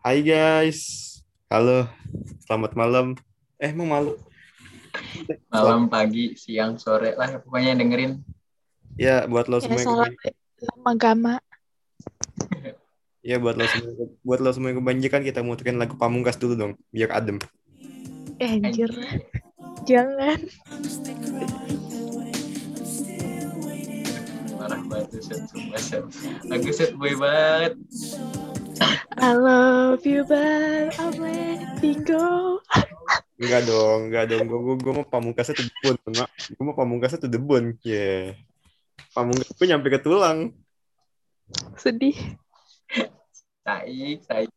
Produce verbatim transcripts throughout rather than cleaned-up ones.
Hai guys, halo, selamat malam. Eh, mau malu? Malam, Selamat. pagi, siang, sore lah pokoknya yang dengerin. Ya, buat lo Ya semua yang salam kebanjikan. nama agama. Ya, buat lo semua, buat lo semua yang kebanjikan, kita muterin lagu Pamungkas dulu dong, biar adem. Eh, anjir, Anjir, jangan. parah banget tuh set sumpah set. Lagu set boy banget. I love you but I'm letting go. Enggak dong, enggak dong. Gue gue gue mau Pamungkasnya tuh debun, mak. Gue mau Pamungkasnya tuh debun. Ya, Pamungkas gue nyampe ke tulang. Sedih. Saik, saik.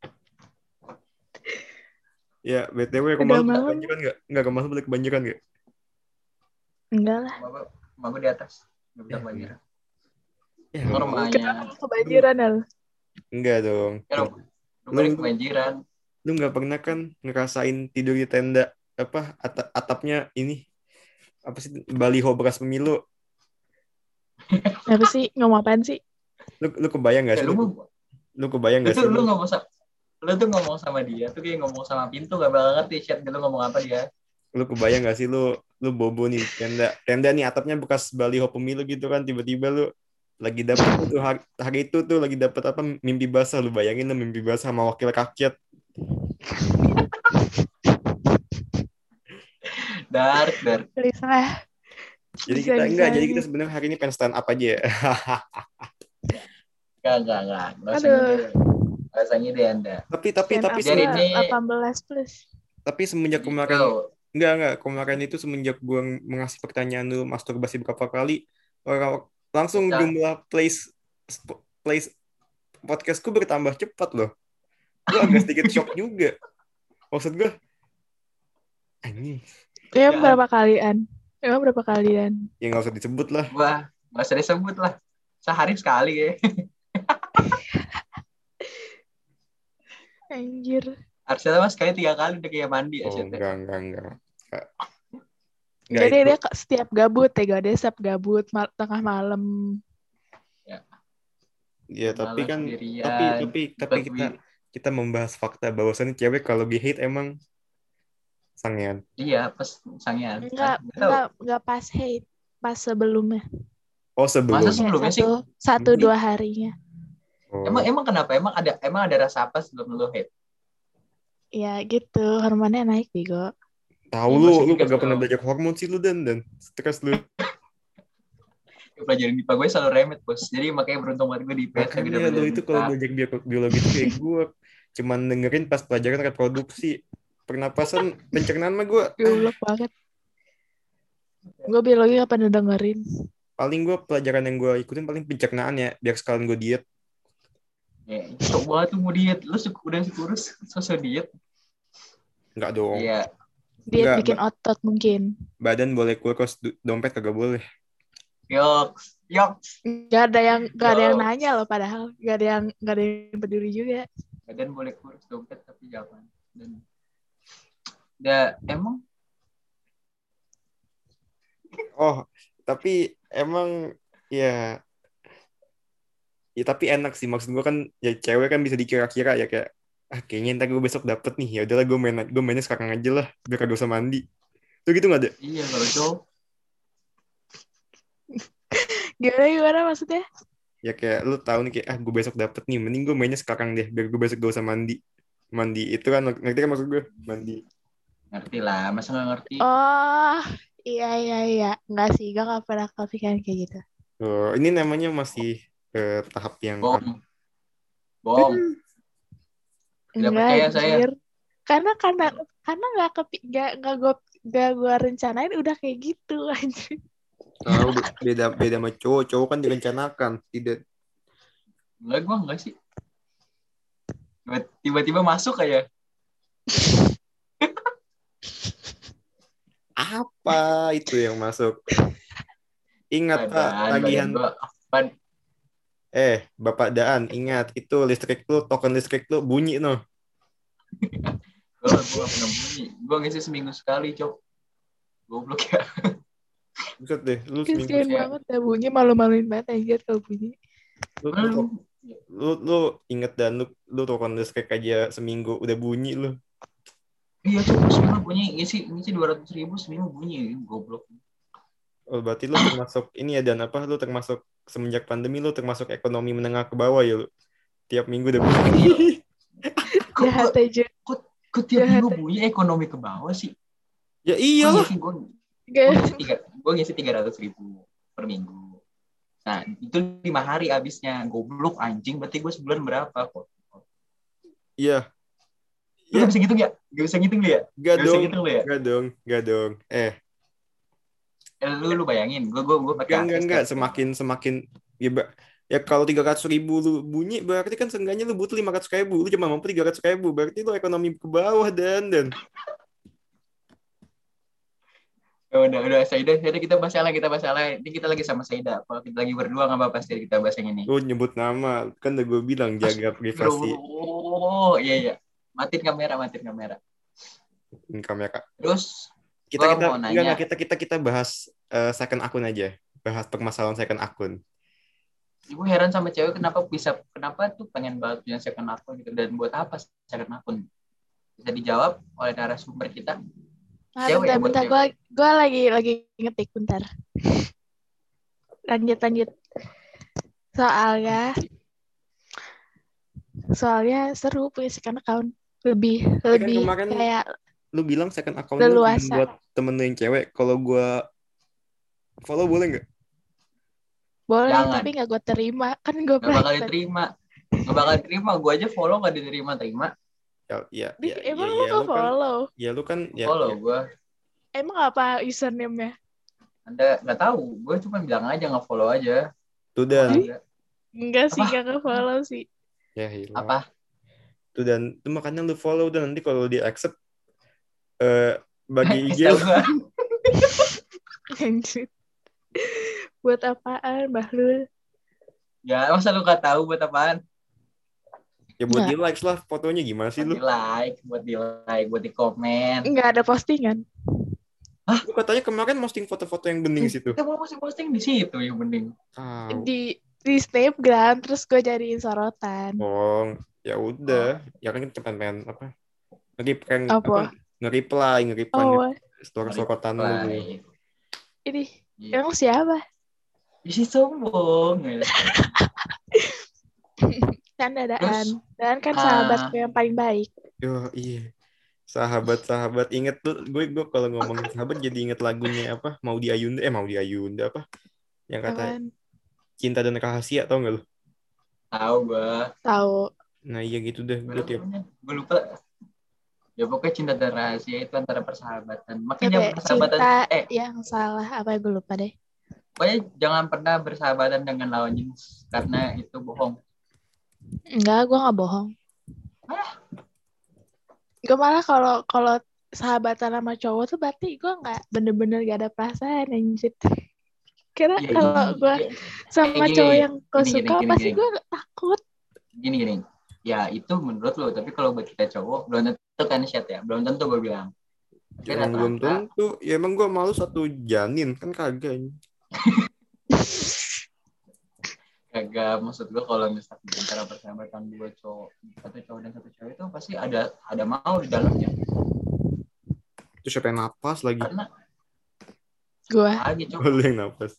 Ya, B T W rumah Udah lu malam. kebanjikan nggak? Enggak, rumah lu boleh kebanjikan nggak? Enggak lah. Mama, mama di atas. Gak bisa Ya, banjir. ya Oh, rumah lu. rumahnya. Kenapa lu kebanjiran, Al? Enggak dong. Ya, Lu, rum- lu, rumahnya lu kebanjiran. lu nggak pernah kan ngerasain tidur di tenda apa atap atapnya ini apa sih baliho bekas pemilu. Apa sih? Ngomong apaan sih? Lu lu kebayang nggak Ya, sih lu lu, mau, lu kebayang lu nggak tuh sih lu lu ngomong sama, lu tuh ngomong sama dia tuh kayak ngomong sama pintu, gak bakal ngerti chat lu ngomong apa dia. lu kebayang nggak sih lu lu bobo nih di tenda tenda nih atapnya bekas baliho pemilu gitu kan tiba-tiba lu lagi dapet tuh hari, hari itu tuh lagi dapet apa mimpi basah lu bayangin lah mimpi basah sama wakil rakyat. Dark, dark. Please lah. Jadi kita enggak jadi kita Bisa-bisanya. sebenarnya hari ini pengen stand up aja ya. Gak, gak, gak. Gak usah ngide. Aduh, Gak usah ngide Anda. tapi tapi stand tapi up Biar semenjak lah ini, delapan belas plus. tapi semenjak kemarin gitu. enggak enggak kemarin itu semenjak gue mengasih pertanyaan lu masturbasi berapa kali orang langsung Pecah. jumlah plays plays podcastku bertambah cepat loh. Gue agak sedikit shock juga. Maksud gue, anjing. Ya, Ya, berapa kalian? Emang berapa kalian? Ya nggak usah disebut lah. Wah, nggak usah disebut lah. Sehari sekali ya. Anjir. Harusnya mas sekali tiga kali udah kayak mandi Oh aja. enggak enggak enggak. Enggak, enggak Jadi itu. dia ke- setiap gabut ya, gak ada setiap gabut mal- tengah malam. Ya, Ya tapi malam kan tapi sendirian. tapi tapi Ikut kita wi- kita membahas fakta bahwasannya cewek kalau di hate emang sangean. Iya, pas sangian. Enggak, Nggak tahu. enggak, enggak pas hate, pas sebelumnya. Oh Masa sebelum. Kayak sebelumnya sih? satu, satu Ini- dua harinya. Emang Oh, emang kenapa? Emang ada emang ada rasa apa sebelum lu hate? Ya gitu, hormonnya naik bego. tahu Ya, lu gua sih lu juga kagak pernah tahu. belajar hormon sih lu dan dan stres lu. Ya, pelajaran I P A gue selalu remet bos. Jadi makanya beruntung banget gue di I P S lagi udah Makanya lu belajar itu kalau I P A. belajar bio- biologi itu kayak gue cuman dengerin pas pelajaran reproduksi pernapasan pencernaan mah gue Goblok banget. Gue biologi gak pernah dengerin. paling gue pelajaran yang gue ikutin paling pencernaan ya biar sekalian gue diet. Ya, coba tuh mau diet. Lu suka udah kurus, sosok diet. Enggak dong. Iya, Diet Enggak, bikin ba- otot mungkin. badan boleh kurus, do- dompet kagak boleh. yoks, yoks. Gak ada yang gak ada yang Yo. nanya loh padahal. Gak ada yang gak ada yang peduli juga. Badan boleh kurus dompet tapi jangan. Dan ya emang Oh, tapi emang ya ya tapi enak sih maksud gue kan ya cewek kan bisa dikira-kira ya kayak ah kayaknya ntar gue besok dapet nih ya udahlah gue main gue mainnya sekarang aja lah biar kagak usah mandi. Tuh gitu nggak ada? iya kalau cowok Gimana gimana maksudnya? Ya kayak lu tahu nih kayak ah gue besok dapet nih mending gue mainnya sekarang deh biar gue besok gak usah mandi mandi itu kan ngerti kan maksud gue mandi. ngerti lah, masa nggak ngerti? Oh, iya iya iya. Enggak sih, gue gak pernah kepikiran kayak gitu. Oh, ini namanya masih eh, tahap yang Bohong, bohong. Tidak Enggak, percaya saya. anjir. Karena karena karena nggak kepi nggak nggak gue nggak gue rencanain udah kayak gitu anjir. tahu beda beda sama cowok cowok kan direncanakan tidak Enggak, gua enggak sih. Tiba-tiba masuk kayak apa itu yang masuk. Ingat Pak badan, tagihan badan gua. Bad, eh Bapak Daan ingat itu listrik lu token listrik lu bunyi no. gua, gua nggak pernah bunyi. Gua ngisi seminggu sekali, cok. Goblok ya. Buset deh lu seminggu Kasian Ya. banget ya bunyi, malu-maluin banget anjir kalau bunyi. lu, lu, Lu, Lu lu inget dan lu lu tuh kan kayak aja seminggu udah bunyi lu. Iya cok, seminggu bunyi ngisi ngisi dua ratus ribu seminggu bunyi, goblok. Oh, berarti lu termasuk ini ya dan apa lu termasuk semenjak pandemi lu termasuk ekonomi menengah ke bawah ya lu. Tiap minggu udah bunyi. Iya. Kok Jahat kok aja. kok, kok tiap Jahat. minggu bunyi ekonomi ke bawah sih? Ya Gue iyalah. ngisi gue gue Gak. ngisi tiga gue ngisi tiga ratus ribu per minggu. Nah itu lima hari abisnya, goblok anjing. Berarti gue sebulan berapa kok? Iya. Lu Ya, gak bisa ngitung ya? Gak bisa ngitung lu ya? gak Gak bisa dong. ngitung lu ya? Gak dong, gak dong. Eh, Eh, lu lu bayangin, gue gue gue pakai enggak enggak akses enggak tiap semakin semakin ya, ba- ya kalau tiga ratus ribu lu bunyi berarti kan seenggaknya lu butuh lima ratus ribu. Lu cuma mampu tiga ratus ribu. Berarti lu ekonomi ke bawah dan dan. Ya udah udah Saida, Saida kita bahas yang lain, kita bahas yang lain. Ini kita lagi sama Saida. Kalau kita lagi berdua nggak apa-apa sih kita bahas yang ini. Lu nyebut nama. Kan udah gue bilang jaga privasi Oh iya iya. Matiin kamera, matiin kamera. kamera. Terus Kita gua kita mau enggak nanya. enggak kita kita kita bahas eh, second akun aja. Bahas permasalahan second akun. Gue heran sama cewek kenapa bisa kenapa tuh pengen banget punya second akun gitu, dan buat apa second akun? Bisa dijawab oleh narasumber kita. Nah, Cewek bentar, ya, buat bentar. cewek. Gue gue lagi lagi ngetik bentar. Lanjut lanjut. Soalnya soalnya seru punya second account. Lebih Tapi kan lebih kemarin kayak lu bilang second account lu cuma leluasa. buat temen lu yang cewek. Kalau gue follow boleh nggak? Boleh, Jangan. tapi nggak gue terima. Kan gue Gak bakal private. diterima. Gak bakal diterima. Gue aja follow gak diterima-terima. Ya ya Di, ya ya, emang ya, lu lu kan nge-follow? ya lu kan ya, Follow ya. gue. Emang apa username-nya? Anda nggak tahu. Gue cuma bilang aja nge-follow aja. Tuh Gua dan ada. Enggak sih, Apa? nggak nge-follow sih. ya hilang. Apa? Tuh dan tuh makanya lu follow dan nanti kalau di accept eh bagi I G Kasih tau lu. gue. Anjir. Buat apaan, Bahlul? Ya masa lu gak tahu buat apaan? Ya buat Nggak. di likes lah fotonya gimana sih Buat lu? di like, buat di like, buat di komen. Nggak ada postingan. Lu katanya kemarin posting foto-foto yang bening situ. Kita mau posting di situ yang penting. Tahu. Di di Snapgram, terus gue jadiin sorotan. Oh, ya udah. Ya kan kita pengen apa? Nge-reply Apa? apa? Nge-reply, nge-reply Oh, story sorotan lu. Like. ini Iya. emang siapa? Isi sombong. Canda-daan. Dan kan ah, sahabatku yang paling baik. Yo, iya. Sahabat-sahabat inget tuh gue gue kalau ngomongin sahabat jadi inget lagunya apa? Mau di Ayunda eh mau di Ayunda apa? Yang kata Apaan? cinta dan rahasia tau gak lu? Tahu gue. Tahu. Nah iya gitu deh. Gue tiap Gue lupa. Ya pokoknya cinta dan rahasia itu antara persahabatan. Makanya Kayak persahabatan cinta eh yang salah. Apa ya, gue lupa deh. pokoknya jangan pernah bersahabatan dengan lawan jenis karena itu bohong. Enggak, gue nggak bohong. Gue malah kalau kalau sahabatan sama cowok tuh berarti gue nggak bener-bener gak ada perasaan anjir. Karena Ya, kalau gini, gue ya, sama gini, cowok gini, yang gue gini, suka gini, pasti gini. gue takut. Gini gini. Ya itu menurut lo, tapi kalau buat kita cowok belum tentu kan chat ya. Belum tentu gue bilang. Tapi emang belum rata-rata tentu. Ya emang gue malu satu janin kan kagak. kagak, maksud gue kalau misalnya antara persahabatan dua cowok, satu cowok dan satu cewek itu pasti ada ada mau di dalamnya. Terus siapa yang napas lagi? Karena Gue. lagi cowok. Lu yang napas.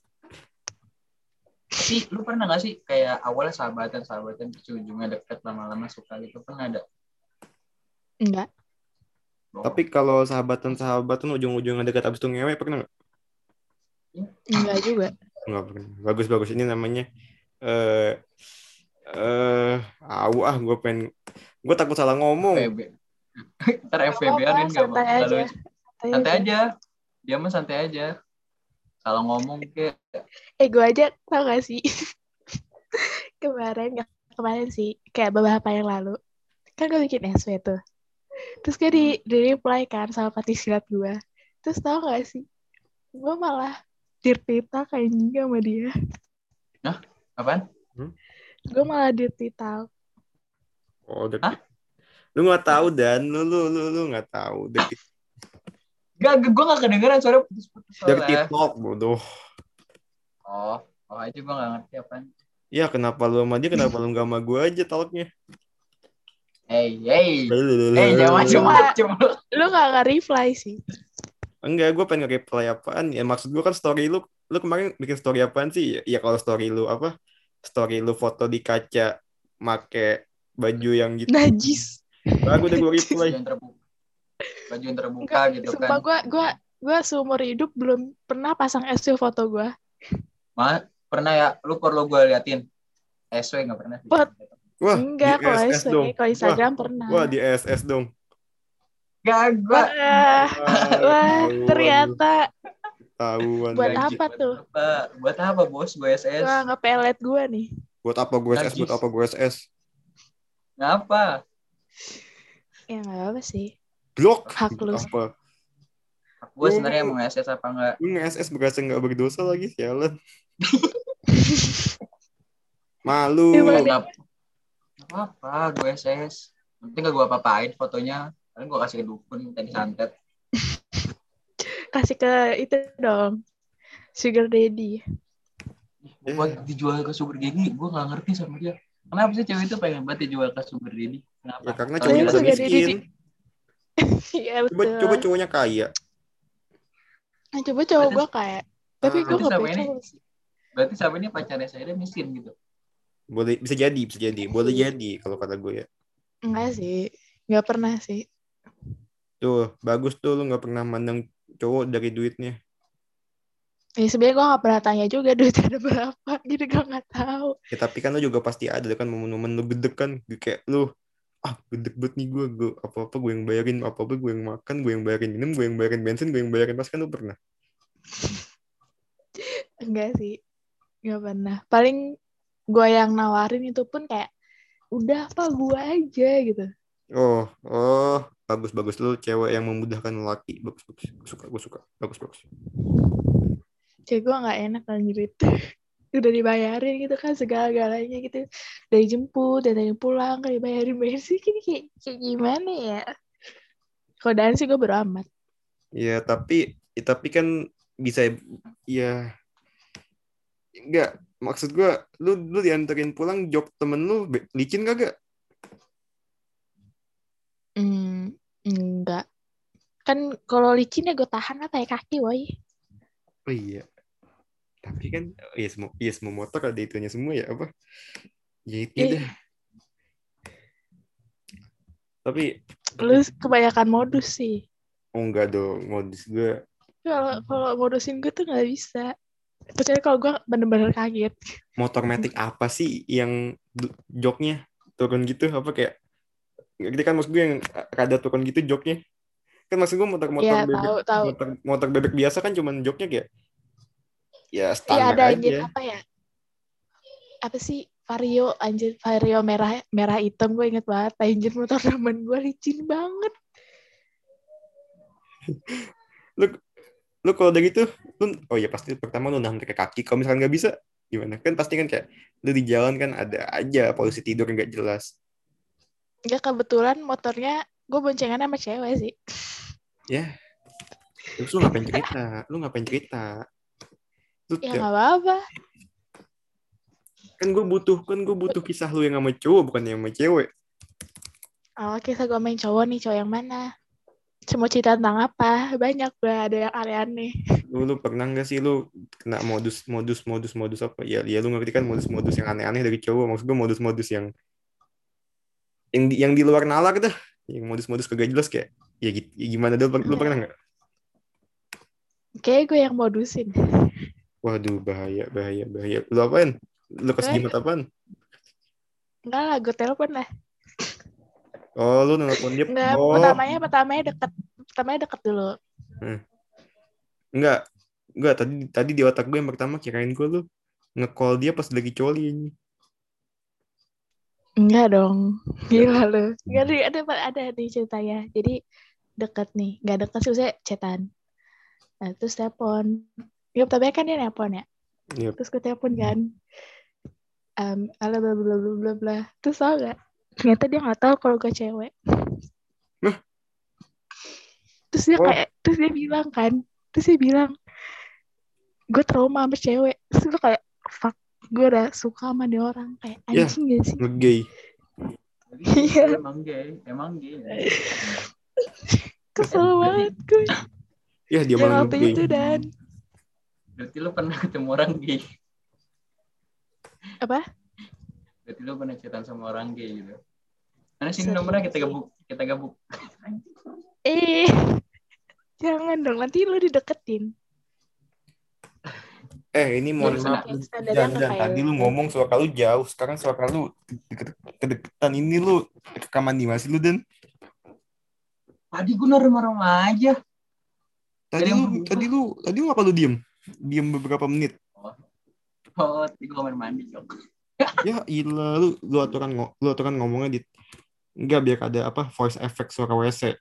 Tapi lu pernah gak sih kayak awalnya sahabatan sahabatan terus ujungnya deket lama-lama suka gitu, pernah ada? Enggak. Bohong. Tapi kalau sahabatan-sahabatan ujung-ujungnya dekat abis itu ngewe pernah nggak? Enggak juga. Nggak pernah. Bagus-bagus ini namanya. Eh, eh, awu ah, gue pengen, gue takut salah ngomong. F V B. Ntar F V B-an kan gak Santai bakal aja. lucu. Santai aja. Dia mah santai aja. Kalau ngomong kayak Eh gue aja tau gak sih kemarin gak kemarin sih kayak beberapa yang lalu kan gue bikin S W tuh, terus gue di, di reply kan sama partisilat gue, terus tau gak sih gue malah dirty talk kayak juga sama dia. Nah, apaan? Hmm? Gue malah dirty talk. Oh, detik. Lu nggak tahu dan lu lu lu lu nggak tahu detik. Gak, gue gak kedengeran suara putus-putus Dirty soalnya. talk bodoh. Oh, oh aja gue gak ngerti apaan. Ya kenapa lu sama dia, kenapa lu gak sama gue aja talknya? Hey, hey, hey, jangan Lu nggak macem-macem lu. lu nggak nge-reply sih. Enggak, gue pengen nge-reply apaan. Ya maksud gue kan story lu, lu kemarin bikin story apaan sih? Ya, ya kalau story lu apa? Story lu foto di kaca make baju yang gitu. Najis. Baru udah gue Baju reply. yang terbuka, baju yang terbuka Enggak, gitu sumpah kan. gue gue gue seumur hidup belum pernah pasang S W foto gue. Ma, pernah ya, lu perlu gue liatin. S W nggak pernah sih. Buat Wah, di enggak kalau S S S W, dong. kalau Wah, Instagram wah pernah. di S S dong. Gak, gue Wah, Wah, wah tahuan, ternyata tahuan. buat gaji apa buat tuh? apa? Buat apa bos? Gue S S. Wah, ngepelet gue nih. Buat apa gue S S? Buat Najis. apa gue S S? Ngapa? Ya nggak apa sih. Blok. Hak lu. Apa? Gue sebenarnya mau S S apa enggak? Lu nge-S S berasa nggak berdosa lagi, sialan. Malu. Emang Gue deh. nggak apa-apa, gue S S. Nanti gak gue apa-apain fotonya. Paling gue kasih ke dukun, tadi santet. Kasih ke itu dong. Sugar daddy. Buat dijual ke sugar daddy, gue gak ngerti sama dia. Kenapa sih cewek itu pengen banget dijual ke sugar daddy? Kenapa? Ya karena Kalau cowoknya dia pada sugar daddy miskin. Iya Coba betul. coba cowoknya kaya. Nah, coba cowok Berarti- gue kayak. Tapi Ah. gue Berarti gak sama punya ini- cowok sih. berarti sama ini pacarnya saya miskin gitu. Boleh, bisa jadi, bisa jadi. Boleh jadi kalau kata gue ya. Enggak sih. Gak pernah sih. Tuh, bagus tuh lu nggak pernah mandang cowok dari duitnya. Ya sebenarnya gue gak pernah tanya juga duitnya ada berapa. Jadi gue gak tahu. Ya tapi kan lu juga pasti ada kan momen-momen lu gedek kan. Kayak lu, ah gedek banget nih gue. gue apa-apa gue yang bayarin, apa-apa gue yang makan, gue yang bayarin minum, gue yang bayarin bensin, gue yang bayarin pas kan lu pernah. Enggak sih. Gak pernah. Paling gue yang nawarin itu pun kayak, udah apa gue aja gitu. Oh, oh, bagus-bagus lu cewek yang memudahkan lelaki. Bagus-bagus. Gue suka, gue suka. Bagus-bagus. Cewek gue gak enak anjir itu. Udah dibayarin gitu kan segala-galanya gitu. Dari jemput, dari pulang, kan dibayarin. Bayar sih kayak, kayak gimana ya. Kodaan sih gue beramat. Ya tapi, ya, tapi kan bisa ya enggak. Maksud gue, lu lu dianterin pulang jok temen lu licin kagak? Hmm, enggak. Kan kalau licin ya gue tahan lah kayak kaki woy. Oh iya. Tapi kan ya semua ya semua motor ada itunya semua ya apa? Jahitnya Eh. dah. Tapi Lu kebanyakan modus sih. oh enggak dong, modus gue. Kalau kalau modusin gue tuh nggak bisa. Kecuali kalau gue bener-bener kaget. Motor matic apa sih yang du- joknya turun gitu apa kayak ngerti kan maksud gue yang rada turun gitu joknya. Kan maksud gue motor-motor Iya bebek tahu tahu. motor, motor bebek biasa kan cuman joknya kayak ya Iya standar ada anjir aja. apa ya? Apa sih Vario anjir Vario merah merah hitam gue inget banget anjir motor temen gue licin banget. Lu lu kalau udah gitu lu oh ya pasti pertama lu nahan pakai kaki. Kalau misalkan nggak bisa gimana? Kan pasti kan kayak lu di jalan kan ada aja polisi tidur yang nggak jelas. Ya kebetulan motornya gue boncengan sama cewek sih. Ya. Terus lu ngapain cerita? Lu ngapain cerita? Lu Ya tiap- nggak apa-apa. kan gue butuh kan gue butuh kisah lu yang sama cowok bukan yang sama cewek. Oh kisah gue main cowok nih cowok yang mana? Cuma cerita tentang apa? Banyak gue ada yang aneh-aneh. Lu, lu pernah nggak sih lu kena modus modus modus modus apa ya ya lu ngerti kan modus modus yang aneh-aneh dari cowok. Maksud gue modus modus yang yang di, yang di luar nalar dah, yang modus modus kagak jelas kayak ya, gitu, ya gimana dulu lu pernah nggak? Kayaknya gue yang modusin. Waduh bahaya bahaya bahaya. Lu apain? Lu kasih jimat apaan? Enggak lah, gue telepon lah. Oh lu nelfon dia. Enggak, Oh pertamanya pertamanya deket, pertamanya deket dulu. enggak enggak tadi tadi di otak gue yang pertama kirain gue lu nge-call dia pas lagi coli ini. Enggak dong, gila lu. Enggak ada ada ada di ceritanya. Jadi deket nih, nggak deket sih, saya chatan. Nah, terus telepon. Ya pertamanya kan dia nelpon ya. Yep. Terus gue telepon kan. Um, ala bla bla bla bla bla. Terus tau gak? Ternyata dia nggak tahu kalau gue cewek. Hah? Terus dia Oh. kayak, terus dia bilang kan, terus dia bilang, gue trauma sama cewek. Terus gue kayak, fuck. gue udah suka sama dia orang kayak Ya, anjing gak sih? nge-gay. Jadi Iya. itu emang gay, emang gay. Kesel banget gue. Ya, dia Yang malah waktu nge-gay. itu dan Berarti lu pernah ketemu orang gay. apa? Berarti lu pernah chatan sama orang gay gitu. Mana sih Sering nomornya kita sih. gabung, kita gabung. Eh, jangan dong, nanti lu dideketin. Eh, ini mohon Iya, maaf. Kayak standarnya Dan, nggak dan kayak tadi lu. lu ngomong suara lu jauh. Sekarang suara lu deket- kedeketan. Ini lu rekaman di masih lu, Dan. Tadi gue normal aja. Tadi Ada yang lu, berubah. tadi lu, tadi lu apa lu diem? Diem beberapa menit. Oh, oh tadi gue kamar mandi dong. Ya, ilah lu, lu aturan ngo- lu aturan ngomongnya di enggak biar ada apa voice effect suara W C.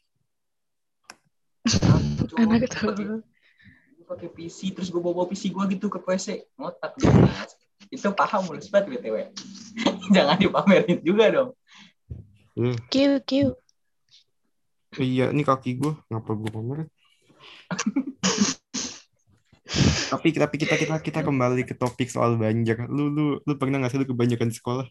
Anak Gue tuh. pakai P C terus gue bawa P C gue gitu ke P C ngotak gitu. Itu paham mulus banget B T W. Jangan dipamerin juga dong. Hmm. Q, Q. Iya, ini kaki gue ngapa gue pamerin? tapi tapi kita kita kita kembali ke topik soal banjir. Lu lu lu pernah nggak sih lu kebanyakan di sekolah?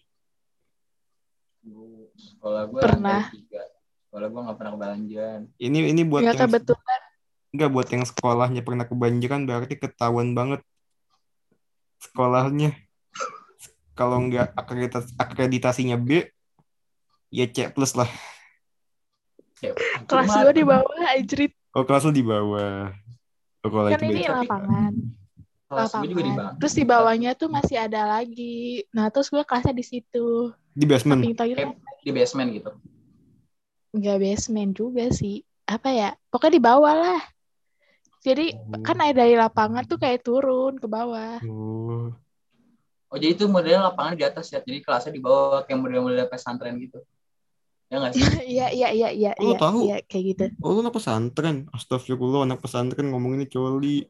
Sekolah gue Pernah. lantai tiga. Sekolah gue nggak pernah kebanjiran. Ini ini buat Nggak yang kebetulan. nggak buat yang sekolahnya pernah kebanjiran berarti ketahuan banget sekolahnya. Kalau nggak akreditasi, akreditasinya B, ya C plus lah. Ya, Kelas cuma- gue di bawah, anjrit. Oh, kelas lu di bawah. Oh, kalau Kan itu ini beda. lapangan. kelas gue juga di Lapangan. bawah. Terus di bawahnya tuh masih ada lagi. Nah, terus gue kelasnya di situ. Di basement. Samping toilet. Di basement gitu. Nggak basement juga sih. Apa ya? Pokoknya di bawah lah. Jadi Oh. kan ada dari lapangan tuh kayak turun ke bawah. Oh. Oh jadi itu modelnya lapangan di atas ya. Jadi kelasnya di bawah kayak model-model pesantren gitu. Ya nggak sih? Iya, iya, iya, iya, Oh, iya, tahu? iya, kayak gitu. Oh, lu anak pesantren. Astagfirullah, anak pesantren ngomong ini coli.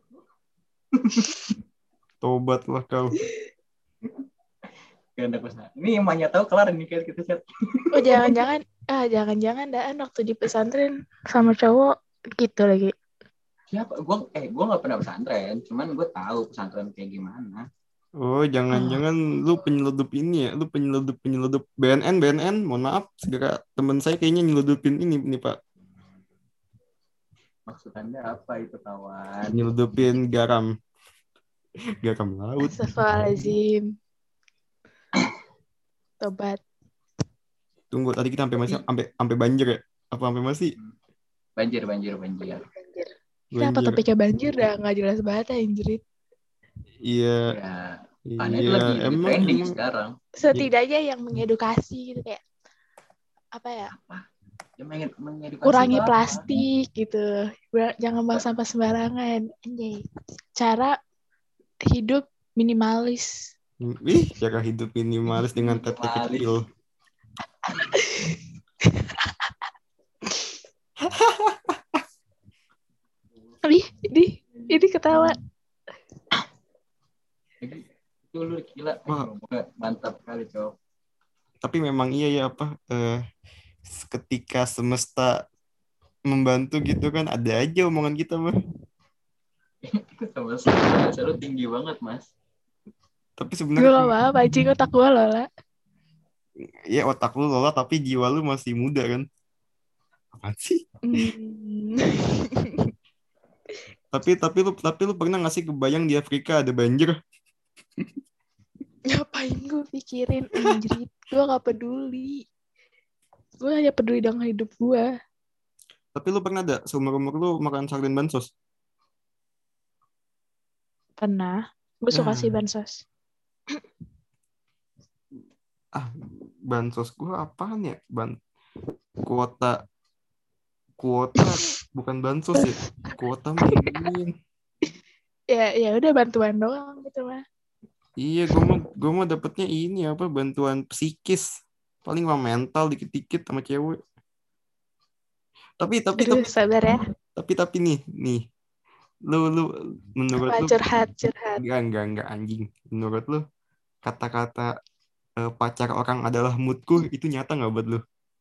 Tobatlah kau. Gak ada pesantren. Ini emaknya tahu kelar nih kayak kita chat. Oh, jangan-jangan, ah, jangan-jangan Daan waktu di pesantren sama cowok gitu lagi. Siapa? Gua eh gua nggak pernah pesantren. Cuman gue tahu pesantren kayak gimana. Oh, jangan-jangan lu penyeludup ini ya. Lu penyeludup-penyeludup B N N, B N N. Mohon maaf, segera teman saya kayaknya nyeludupin ini nih, Pak. Maksud Anda apa itu kawan? Nyeludupin garam. Garam laut. Astagfirullahaladzim. Tobat. Tunggu, tadi kita sampai masih sampai sampai banjir ya? Apa sampai masih? Banjir, banjir, banjir. Banjir. Kenapa Banjir. topiknya banjir dah nggak jelas banget anjrit. Iya, Ya, karena itu iya. lagi, lagi Emang, trending emang. sekarang. Setidaknya yang mengedukasi gitu kayak apa ya? Ya, menge- mengedukasi Kurangi itu apa? plastik gitu. Ber- Jangan buang sampah sembarangan. Anjay. Cara hidup minimalis. Ih, cara hidup minimalis dengan tete Minimalis. kecil. Ih, ini ini ketawa. Itu lu gila. Wah. Mantap kali, Cok. Tapi memang iya ya apa eh, ketika semesta membantu gitu kan ada aja omongan kita mah. Sama sama lu tinggi banget, Mas. Tapi Gue sebenarnya gak apa-apa, anjing otak gue lola. ya otak lu lola tapi jiwa lu masih muda kan. Apaan sih? Hmm. Tapi tapi lu tapi lu pernah nggak sih kebayang di Afrika ada banjir? Ngapain gue pikirin anjrit. Gue gak peduli. Gue hanya peduli dengan hidup gue. Tapi lu pernah ada seumur-umur lu makan sarden bansos? Pernah. Gue suka Ya. sih bansos. Ah, bansos gua apaan ya? Ban kuota kuota bukan bansos ya. Kuota mah ini. Ya ya udah bantuan doang gitu mah. Iya, gua mah gua mah dapetnya ini apa bantuan psikis. Paling mah mental dikit-dikit sama cewek. Tapi tapi Aduh, tapi sabar ya. tapi tapi nih, nih. Lu lu menurut Apa lu curhat, curhat. enggak enggak enggak anjing. Menurut lu kata-kata eh, pacar orang adalah moodku itu nyata nggak buat lu?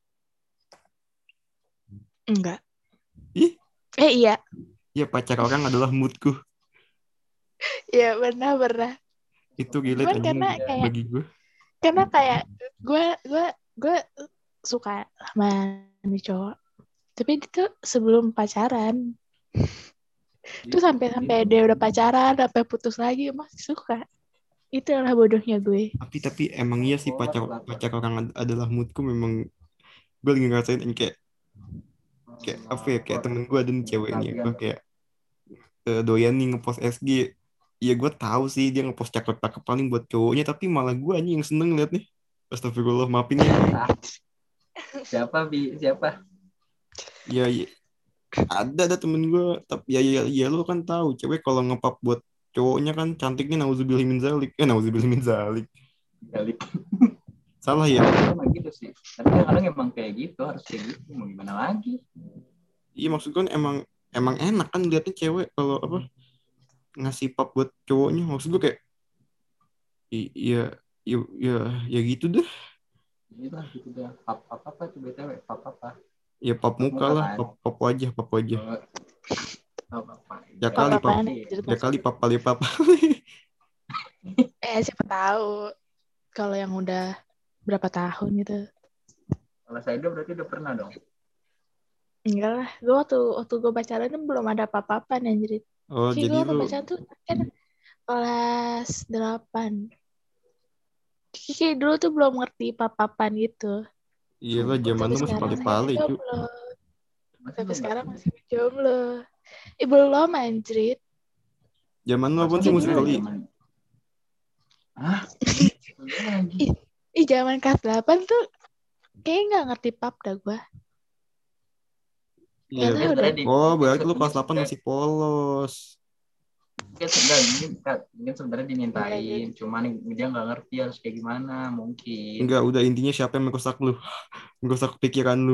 Enggak. Ih, Eh iya. ya pacar orang adalah moodku. Iya, pernah, pernah. Itu relate Cuman anjing karena Iya. kayak bagi gue. karena kayak gue gue gue suka sama nih cowok. Tapi itu sebelum pacaran. Terus sampai sampai dia udah pacaran, sampai putus lagi masih suka. Itu adalah bodohnya gue. Tapi tapi emang iya sih pacar pacar orang ad- adalah moodku memang gue lagi ngerasain ini kayak kayak apa ya kayak temen gue ada nih cewek nih gue kayak eh, doyan nih ngepost S G. Ya gue tahu sih dia ngepost cakep-cakep paling buat cowoknya tapi malah gue aja yang seneng liat nih. Astagfirullah maafin ya. Ah, siapa bi siapa? Ya, ya ada ada temen gue tapi ya ya, ya lu kan tahu cewek kalau ngepap buat cowoknya kan cantiknya nauzubillah min zalik eh nauzubillah min zalik Kali. salah ya. Emang gitu sih. Tapi kadang emang kayak gitu harus kayak gitu. Mau gimana lagi? Iya maksud gue emang emang enak kan liatnya cewek kalau apa ngasih pap buat cowoknya maksud gue kayak i- iya ya ya ya gitu deh. Gitu lah gitu dah. Pap pap apa tuh B T W? Pap apa? Ya pap Pap muka muka lah kan? pap pap wajah pap wajah Oh, pap apa? ya Ya, kali pap Apa-apaan iya. anjir ya kali maksudnya. pap kali pap. Eh siapa tahu kalau yang udah berapa tahun gitu. Kalau saya udah berarti udah pernah dong. Enggak lah, gue waktu waktu gue pacaran tuh belum ada apa-apaan anjir. Oh Kayak jadi gue waktu lu pacaran tuh kan kelas delapan. Kayak dulu tuh belum ngerti apa-apaan gitu. iyalah zaman Sampai lu masih sekarang pale saya pale cu jomblo. Masih Sampai belum sekarang ngerti. masih jomblo. Eh belum anjir. zaman lu apa Masa sih Jadi musik bener kali zaman. Hah? Bener lagi. ih, ih zaman kelas delapan tuh kayak nggak ngerti pap dah gue. iya Nggak Mungkin tahu deh. sebenarnya di oh mungkin berarti se- lu mungkin kelas delapan sebenarnya masih polos. mungkin sebenarnya mungkin, mungkin sebenarnya Enggak, dimintain, jadi cuman dia nggak ngerti harus kayak gimana mungkin. Enggak, udah intinya siapa yang merusak lu? Merusak pikiran lu.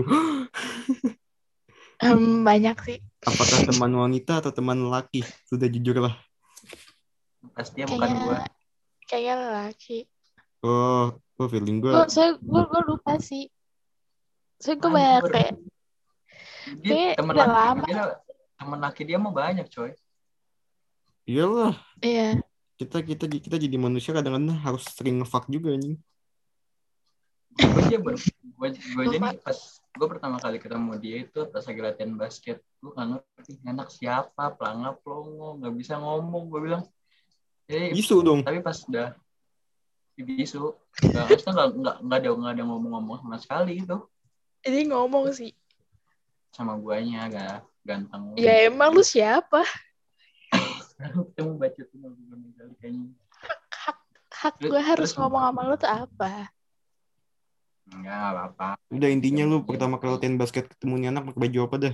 em, banyak sih. Apakah teman wanita atau teman laki? Sudah jujurlah. Pastinya bukan Kayaknya gua. kayaknya laki. Oh, oh feeling gue. Gue saya gue gue lupa sih. Saya gue Banyak banyak baru. kayak Dia kayak teman udah laki lama. dia teman laki dia mah banyak coy. Iyalah, Iya. kita kita kita jadi manusia kadang-kadang harus sering ngefuck juga anjing. Gue aja baru gue gue aja Lupa. nih pas gue pertama kali ketemu dia itu pas lagi latihan basket, gue nggak ngerti anak siapa, pelangap pelongo, nggak bisa ngomong, gue bilang eh Bisu dong. tapi pas udah bisu nggak maksudnya nggak nggak nggak ada nggak ada ngomong-ngomong sama sekali gitu Ini ngomong sih. sama guanya agak ganteng. Ya emang lu siapa? Ketemu baca tuh kali kayaknya. Hak hak Terus- gue harus terus- ngomong sama lu tuh apa? Enggak apa-apa. Udah intinya lu Iya, pertama kali latihan basket ketemu nih anak pakai baju apa dah?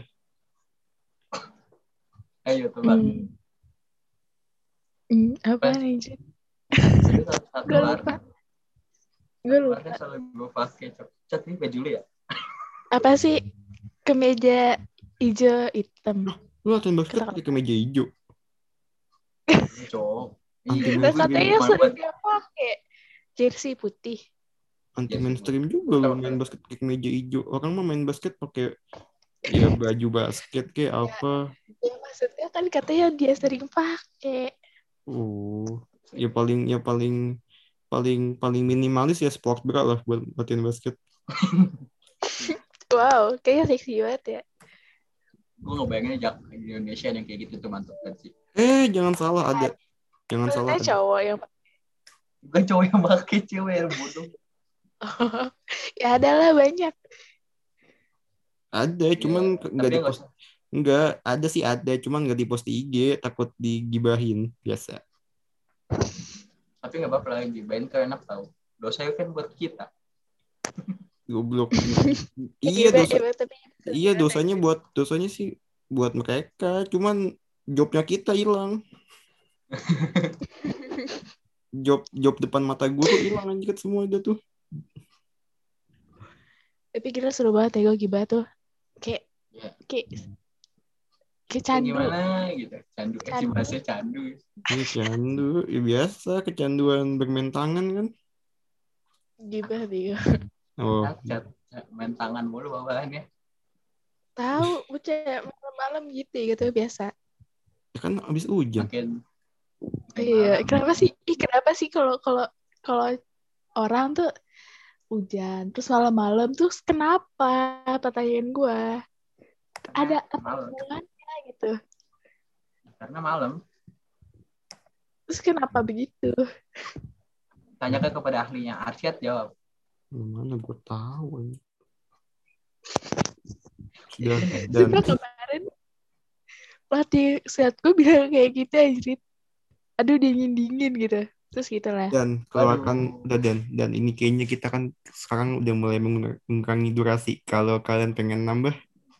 Ayo coba. Hmm. Hmm, apa nih? Jin? Jadi satu satu Gue warna. lupa. Gue lupa. Warna selalu gue pakai. Cat ini baju lu ya? Apa sih? Kemeja hijau hitam. Lu latihan basket Kenapa? pakai kemeja hijau. Ini cowok. Anti Iya, Nah, gue katanya bilang sering buat dia pakai jersey putih. Anti Yes, mainstream juga lu main basket pakai kemeja hijau. Orang mah main basket pakai ya baju basket kayak apa. Ya maksudnya kan katanya dia sering pakai. Oh, ya paling ya paling paling paling minimalis ya sport bra lah buat latihan basket. Wow, kayaknya seksi banget ya. gue ngebayangin jak di Indonesia yang kayak gitu tuh mantep banget sih. Eh, jangan salah ada. Jangan salah Maksudnya ada. cowok yang Bukan cowok yang pakai, cewek yang bodoh. ya adalah banyak. Ada, cuman Ya, nggak tapi di nggak post. usah. Enggak, ada sih ada, cuman nggak di post di I G, takut digibahin biasa. Tapi nggak apa-apa lagi. Bain tuh enak tau. Dosa kan buat kita. Goblok. Iya dosa. Iba, tapi Iya dosanya buat dosanya sih buat mereka, cuman jobnya kita hilang. Job job depan mata guru hilang anjir semua udah tuh. tapi gila seru banget ya gue gibah tuh. Kayak Ya. kayak kayak Kayak candu. gimana gitu. Candu. Eh, si Candu. bahasa candu. Ini candu, ya biasa kecanduan bermain tangan kan. Gibah dia. Oh, Cat, cat, main tangan mulu bawaannya. Tahu, bocah malam-malam gitu ya gitu biasa. ya kan abis hujan. Makin Iya, Malam. kenapa sih? Ih, kenapa sih kalau kalau kalau orang tuh hujan terus malam-malam terus kenapa? Pertanyaan gue. Karena Ada apa malam. hubungannya gitu? Karena malam. Terus kenapa begitu? Tanyakan kepada ahlinya. Arsyad jawab. Gimana gue tahu ini. Sudah Bener. dan Sumpah kemarin pelatih silat gue bilang kayak gitu anjir. Aduh dingin-dingin gitu. Terus gitu lah. dan keluarkan Aduh. udah dan dan ini kayaknya kita kan sekarang udah mulai mengur- mengurangi durasi. Kalau kalian pengen nambah,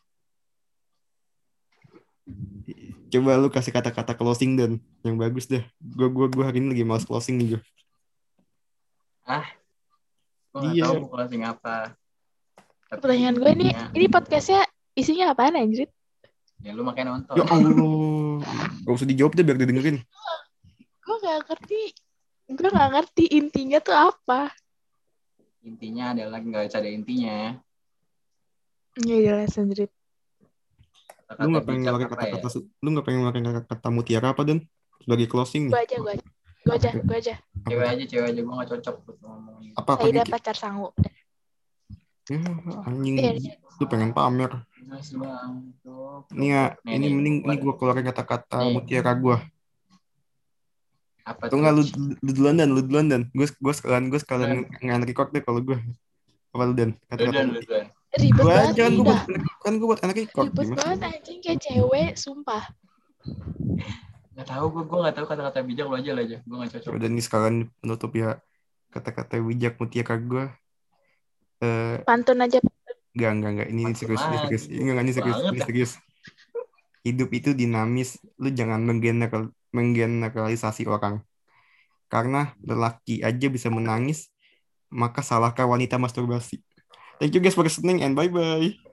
coba lu kasih kata-kata closing dan yang bagus deh. Gue gua gua hari ini lagi males closing nih gue. Ah, gue nggak tahu Iya. mau closing apa. Tapi Pertanyaan gue nih, intinya, ini podcastnya isinya apaan anjir? ya lu makanya nonton. Ya Allah, gak usah dijawab deh biar didengerin. Gue gak ngerti. Gue gak ngerti intinya tuh apa. Intinya adalah nggak usah ada intinya. Ya jelas anjir. Lu Kata-kata nggak pengen bijak pakai apa ya? kata-kata su- lu nggak pengen pakai kata-kata mutiara apa dan sebagai closing nih? Gue aja, gue aja. Gue aja, gue aja. Apa Cewek tuh? aja, cewek aja. Gue nggak cocok buat ngomongin. Apa apa Saida Ki? pacar sangu. Ya, anjing Iya, lu pengen pamer. Mas bang, tuh, Ini ya, nih, ini nih, mending ini buat, gua keluarin kata-kata nih, mutiara gua. apa Atau tuh? enggak lu, lu duluan dan lu duluan dan gue gue sekalian gue sekalian Dan, ngan record deh kalau gue. Apa lu dan lu kata-kata dan, lu muti. dan. ribet Gua banget jangan nih gue buat dah. kan gue buat anak record Ribet gimana? banget anjing kayak cewek, sumpah. Nggak tahu gue, gue nggak tahu kata-kata bijak lu aja lah aja. Gue nggak cocok. Udah nih sekalian penutup ya kata-kata bijak mutiara gue. Eh, Pantun aja. enggak enggak enggak ini Pantun serius ini lagi, serius ini enggak ini serius banget ini dah. serius. Hidup itu dinamis, lu jangan menggeneral, menggeneralisasi orang. Karena lelaki aja bisa menangis, maka salahkah wanita masturbasi? Thank you guys for listening and bye-bye.